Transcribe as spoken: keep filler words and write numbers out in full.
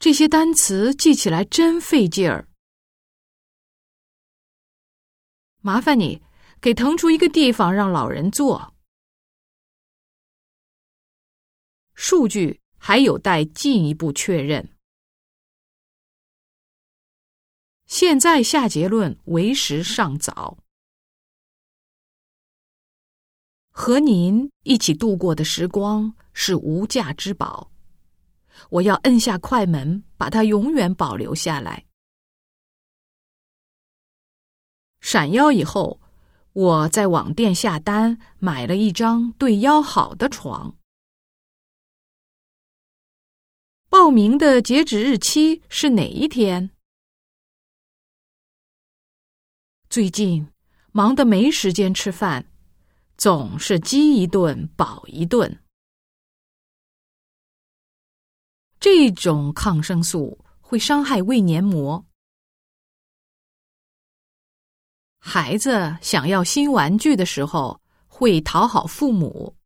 这些单词记起来真费劲儿。麻烦你给腾出一个地方让老人坐。数据还有待进一步确认。现在下结论为时尚早。和您一起度过的时光是无价之宝，我要摁下快门，把它永远保留下来。闪腰以后，我在网店下单买了一张对腰好的床。报名的截止日期是哪一天？最近忙得没时间吃饭，总是饥一顿饱一顿。这种抗生素会伤害胃黏膜。孩子想要新玩具的时候，会讨好父母。